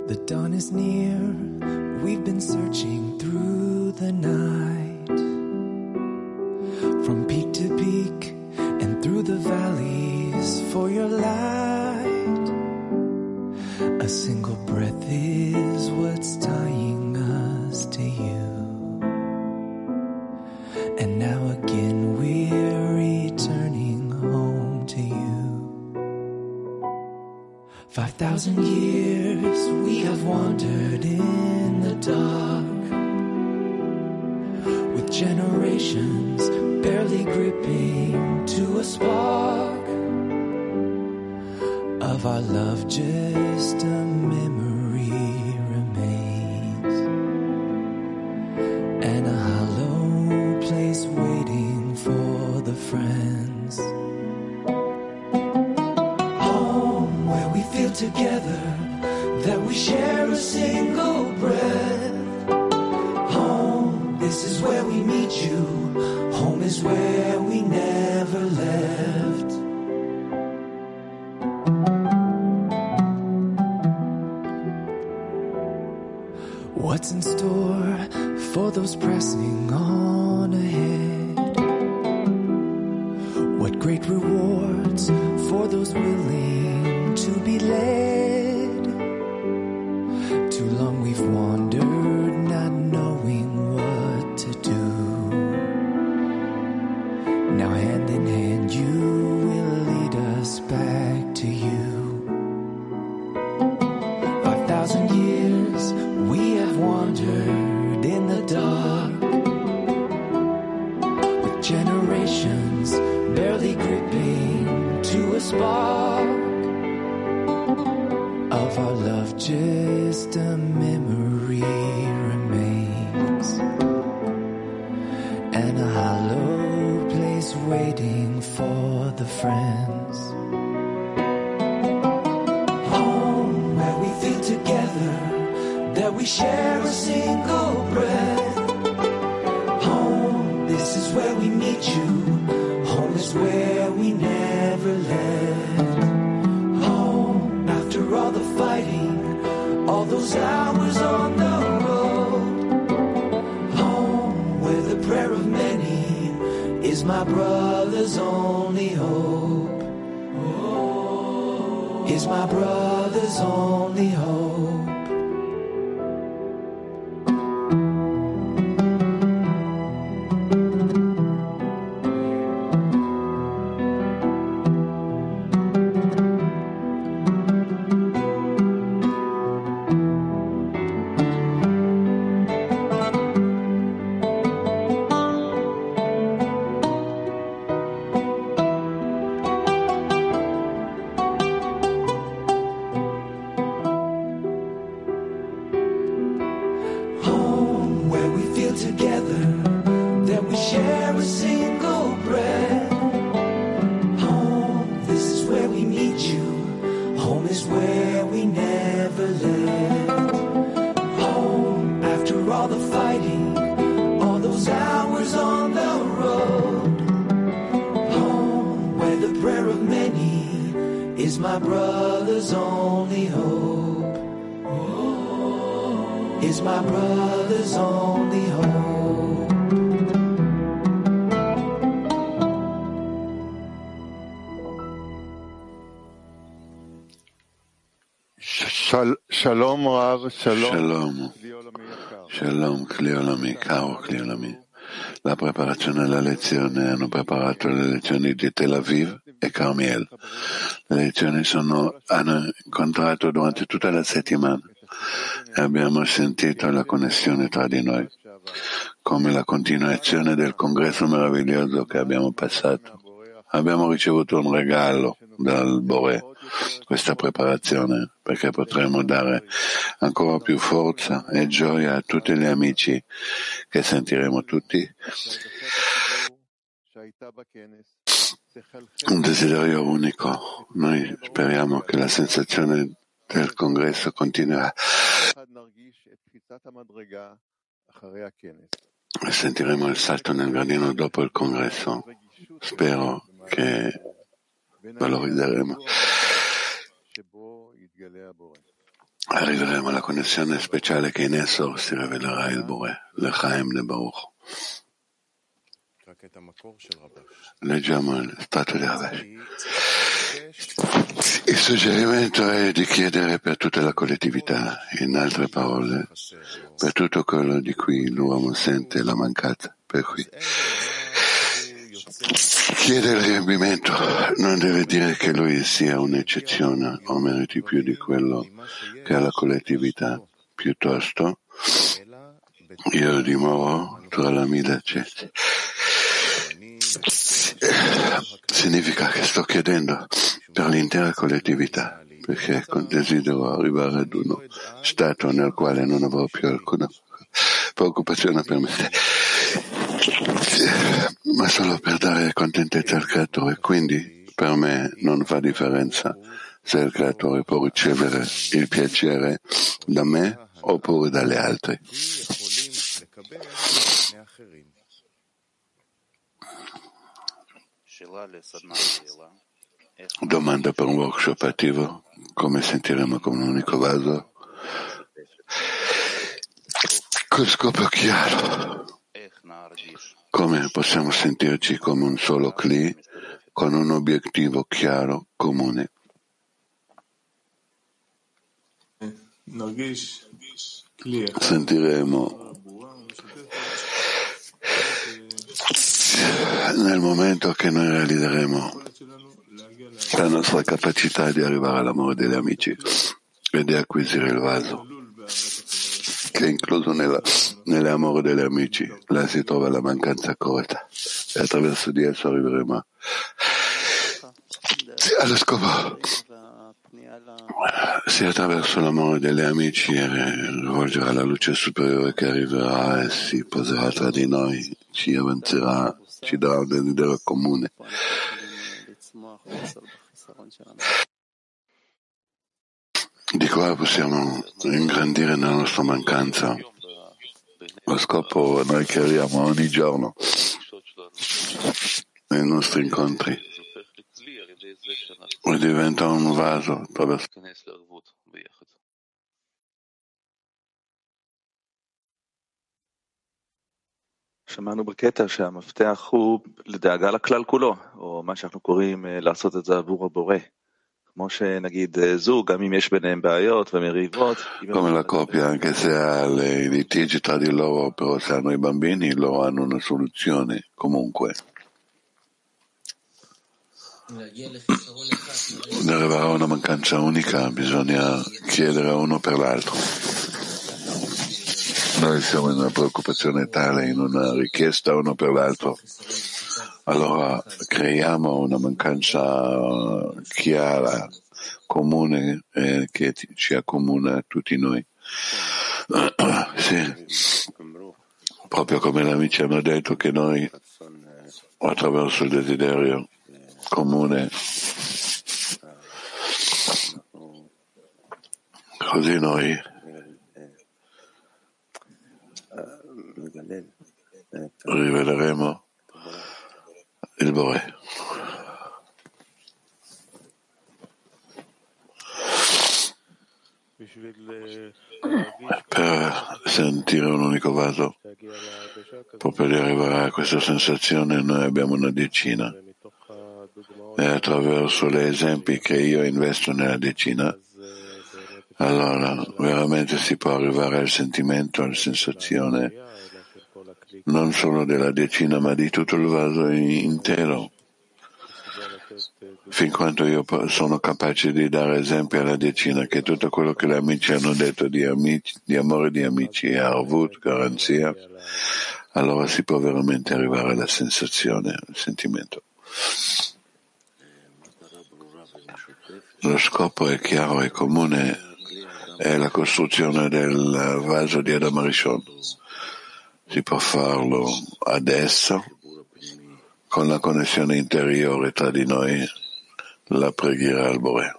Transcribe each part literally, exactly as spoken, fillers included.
The dawn is near, we've been searching through the night, from peak to peak and through the valleys for your light. A single breath is what's tying us to you, and now again we're returning home to you. Five thousand years we have wandered in the dark, with generations barely gripping to a spark of our love. Just a memory remains, and a hollow place waiting for the friends. Home where we feel together, that we share a single breath. Home, this is where we meet you. Home is where we never left. What's in store for those pressing on ahead? What great rewards for those willing to be led? Too long we've wandered, not knowing what to do. Now hand in hand you will lead us back to you. Five thousand years we have wandered in the dark, with generations barely gripping to a spark of our love. Just a memory remains, and a hollow place waiting for the friends. Home where we feel together, that we share a single breath. Home, this is where we meet you. Home is where we never left. Home, after all the fighting, all those hours on the road. Home, where the prayer of many is my brother's only hope. Is my brother's only hope. Shalom Rav, Shalom, Shalom, Kli Olami, caro Kli Olami. La preparazione alla lezione hanno preparato le lezioni di Tel Aviv e Carmiel. Le lezioni sono, hanno incontrato durante tutta la settimana e abbiamo sentito la connessione tra di noi, come la continuazione del congresso meraviglioso che abbiamo passato. Abbiamo ricevuto un regalo dal Bore, questa preparazione, perché potremo dare ancora più forza e gioia a tutti gli amici che sentiremo tutti. Un desiderio unico. Noi speriamo che la sensazione del congresso continuerà e sentiremo il salto nel gradino dopo il congresso. Spero che valorizzeremo arriveremo alla connessione speciale che in esso si rivelerà il Bore, l'Echaim de Baruch. Leggiamo il stato di Rabash. Il suggerimento è di chiedere per tutta la collettività, in altre parole, per tutto quello di cui l'uomo sente la mancanza. Per cui chiedere il riempimento non deve dire che lui sia un'eccezione o meriti più di quello che ha la collettività, piuttosto io dimoro tra la mida cesti. Significa che sto chiedendo per l'intera collettività, perché desidero arrivare ad uno stato nel quale non avrò più alcuna preoccupazione per me, ma solo per dare contentezza al creatore. Quindi per me non fa differenza se il creatore può ricevere il piacere da me oppure dalle altre. Domanda per un workshop attivo: come sentiremo come un unico vaso con scopo chiaro? Come possiamo sentirci come un solo cli con un obiettivo chiaro comune? Sentiremo nel momento che noi realizzeremo la nostra capacità di arrivare all'amore degli amici e di acquisire il vaso, che è incluso nella, nell'amore degli amici. Là si trova la mancanza corretta e attraverso di esso arriveremo allo scopo. Se attraverso l'amore degli amici rivolgerà la luce superiore che arriverà e si poserà tra di noi, ci avanzerà, ci darà un desiderio comune. Di qua possiamo ingrandire nella nostra mancanza. Lo scopo noi chiariamo ogni giorno nei nostri incontri e diventa un vaso attraverso שמענו בקטע שהמפתח הוא לדאגה לכלל כולו, או מה שאנחנו קוראים לעשות את זה עבור הבורא. כמו שנגיד זוג, גם אם יש ביניהם בעיות ומריבות. Come la coppia, anche se ha le litigi tra di loro, però se hanno i bambini, loro hanno una soluzione comunque. Per arrivare a una mancanza unica bisogna chiedere uno per l'altro. Noi siamo in una preoccupazione tale, in una richiesta uno per l'altro, allora creiamo una mancanza chiara, comune, eh, che ci accomuna a tutti noi. Sì, proprio come gli amici hanno detto che noi, attraverso il desiderio comune, così noi riveleremo il Bore. Per sentire un unico vaso, proprio di arrivare a questa sensazione, noi abbiamo una decina e attraverso gli esempi che io investo nella decina, allora veramente si può arrivare al sentimento, alla sensazione non solo della decina ma di tutto il vaso intero, fin quanto io sono capace di dare esempi alla decina che tutto quello che gli amici hanno detto di, amici, di amore di amici è arvut, garanzia, allora si può veramente arrivare alla sensazione, al sentimento. Lo scopo è chiaro e comune, è la costruzione del vaso di Adam Rishon. Si può farlo adesso con la connessione interiore tra di noi, la preghiera al Bore.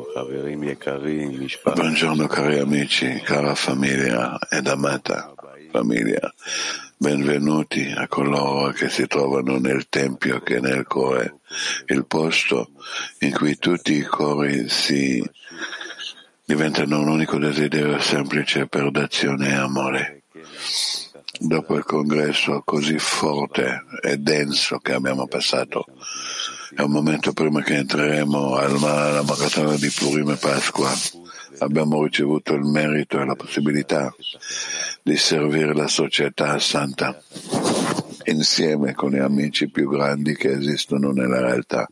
Buongiorno cari amici, cara famiglia ed amata. famiglia. Benvenuti a coloro che si trovano nel Tempio che è nel cuore, il posto in cui tutti i cori si diventano un unico desiderio semplice per d'azione e amore. Dopo il congresso così forte e denso che abbiamo passato, è un momento prima che entreremo al alla maratona di Purim e Pasqua. Abbiamo ricevuto il merito e la possibilità di servire la società santa insieme con gli amici più grandi che esistono nella realtà.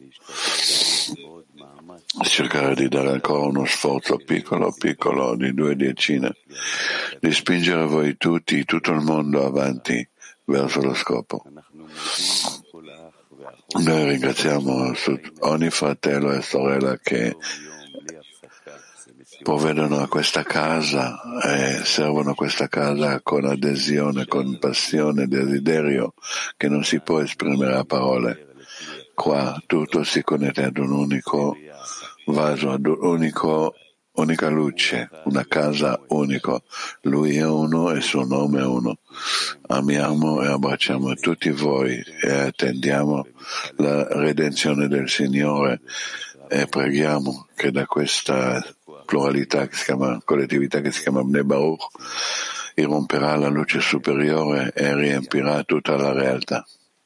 Cercare di dare ancora uno sforzo piccolo piccolo di due decine, di spingere voi tutti, tutto il mondo avanti verso lo scopo. Noi ringraziamo ogni fratello e sorella che provvedono a questa casa e servono questa casa con adesione, con passione, desiderio che non si può esprimere a parole. Qua tutto si connette ad un unico vaso, ad un unico, unica luce, una casa unico. Lui è uno e il suo nome è uno. Amiamo e abbracciamo tutti voi e attendiamo la redenzione del Signore e preghiamo che da questa pluralità che si chiama, collettività che si chiama Bnei Baruch, irromperà la luce superiore e riempirà tutta la realtà.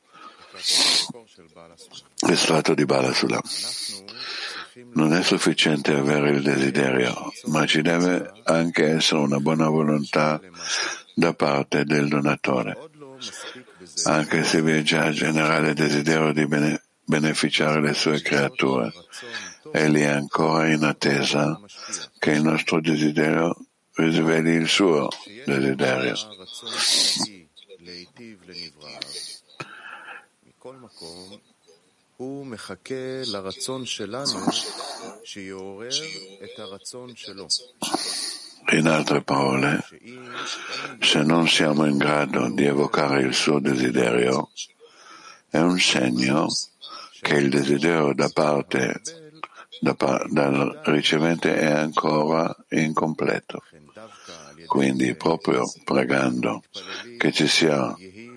Estratto di Bala Sulam. Non è sufficiente avere il desiderio, ma ci deve anche essere una buona volontà da parte del donatore, anche se vi è già generale desiderio di bene, beneficiare le sue creature. Egli è ancora in attesa che il nostro desiderio risveli il suo desiderio. In altre parole, se non siamo in grado di evocare il suo desiderio, è un segno che il desiderio da parte da, dal ricevente è ancora incompleto. Quindi, proprio pregando che ci sia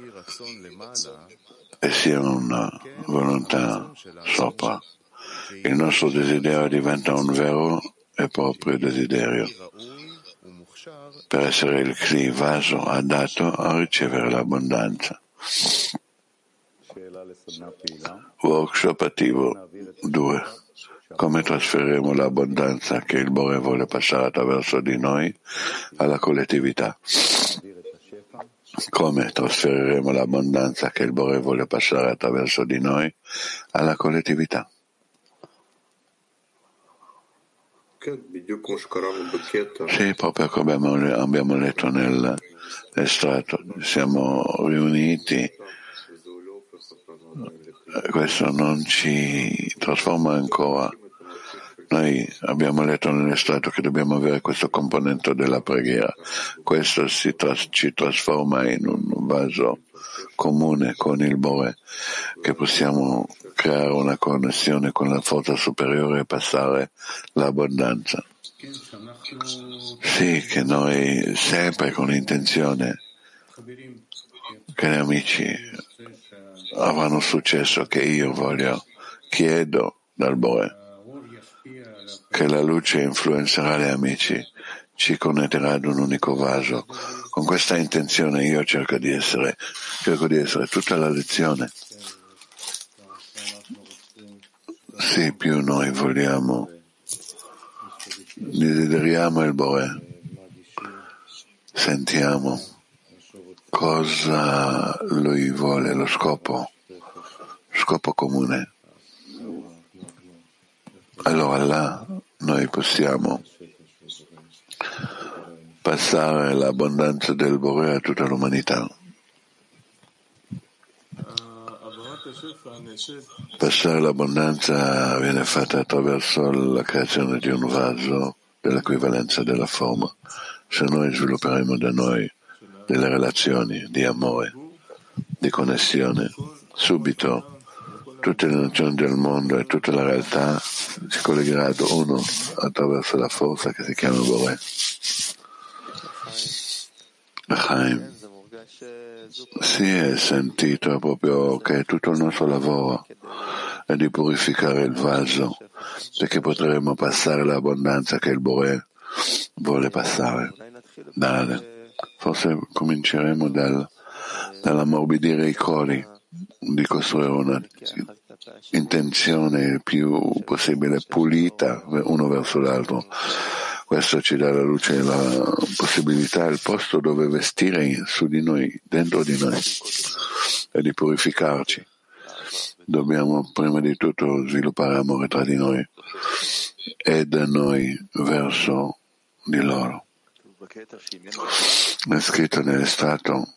e sia una volontà sopra, il nostro desiderio diventa un vero e proprio desiderio per essere il Kli, vaso adatto a ricevere l'abbondanza. Workshop attivo due. Come trasferiremo l'abbondanza che il Bore vuole passare attraverso di noi alla collettività? Come trasferiremo l'abbondanza che il Bore vuole passare attraverso di noi alla collettività? Sì, proprio come abbiamo, abbiamo letto nell'estratto, siamo riuniti, questo non ci trasforma ancora. Noi abbiamo letto nell'estratto che dobbiamo avere questo componente della preghiera, questo si tras- ci trasforma in un vaso comune con il Bore, che possiamo creare una connessione con la forza superiore e passare l'abbondanza. Sì, che noi sempre con l'intenzione che gli amici avranno successo, che io voglio, chiedo dal Bore che la luce influenzerà gli amici, ci connetterà ad un unico vaso. Con questa intenzione io cerco di essere, cerco di essere tutta la lezione. Sì, più noi vogliamo, desideriamo il Bore, sentiamo cosa lui vuole, lo scopo, scopo comune. Allora là noi possiamo passare l'abbondanza del Bore a tutta l'umanità. Passare l'abbondanza viene fatta attraverso la creazione di un vaso dell'equivalenza della forma. Se noi svilupperemo da noi delle relazioni di amore, di connessione, subito tutte le nazioni del mondo e tutta la realtà si collegherà ad uno attraverso la forza che si chiama Bore. Chaim. si è sentito proprio che tutto il nostro lavoro è di purificare il vaso perché potremo passare l'abbondanza che il Boré vuole passare. Dale. Forse cominceremo dal, dall'ammorbidire i cori, di costruire una intenzione il più possibile pulita uno verso l'altro. Questo ci dà la luce e la possibilità, il posto dove vestire su di noi, dentro di noi, e di purificarci. Dobbiamo prima di tutto sviluppare amore tra di noi e da noi verso di loro. È scritto nell'estratto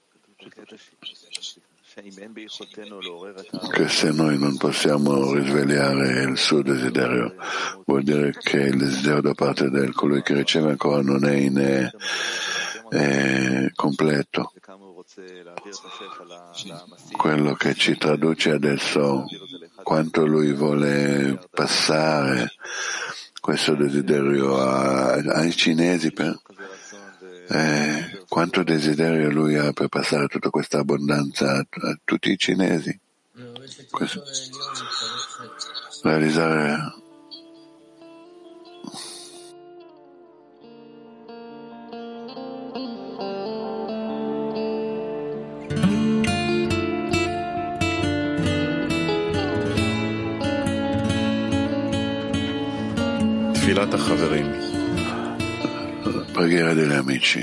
che se noi non possiamo risvegliare il suo desiderio, vuol dire che il desiderio da parte del colui che riceve ancora non è in è, è completo. Quello che ci traduce adesso quanto lui vuole passare questo desiderio a, ai cinesi per Eh, quanto desiderio lui ha per passare tutta questa abbondanza a, a tutti i cinesi. Questo, realizzare תפילת החברים. Preghiera degli amici.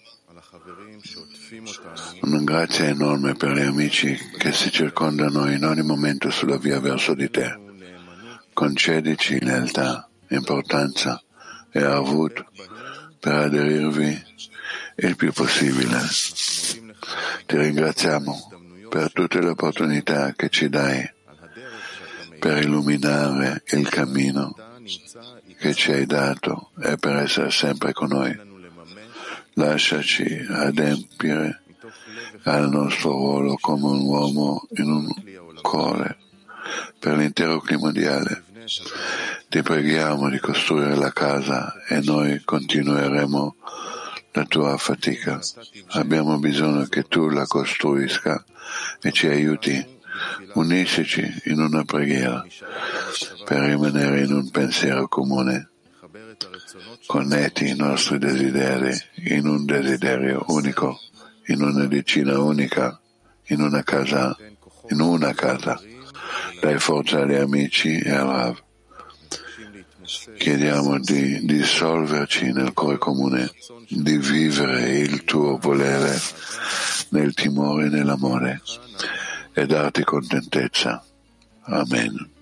Una grazia enorme per gli amici che si circondano in ogni momento sulla via verso di te. Concedici lealtà, importanza e arvut per aderirvi il più possibile. Ti ringraziamo per tutte le opportunità che ci dai per illuminare il cammino che ci hai dato e per essere sempre con noi. Lasciaci adempiere al nostro ruolo come un uomo in un cuore per l'intero clima mondiale. Ti preghiamo di costruire la casa e noi continueremo la tua fatica. Abbiamo bisogno che tu la costruisca e ci aiuti. Uniscici in una preghiera per rimanere in un pensiero comune. Connetti i nostri desideri in un desiderio unico, in una decina unica, in una casa, in una casa. Dai forza agli amici e al Rav. Chiediamo di dissolverci nel cuore comune, di vivere il tuo volere nel timore e nell'amore e darti contentezza. Amen.